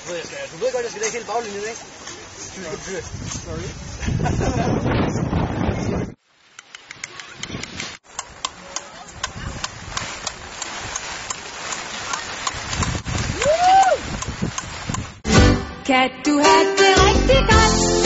Du ved godt, jeg skal lægge hele baglinjen, ikke? Sorry. Kan du have det rigtig godt?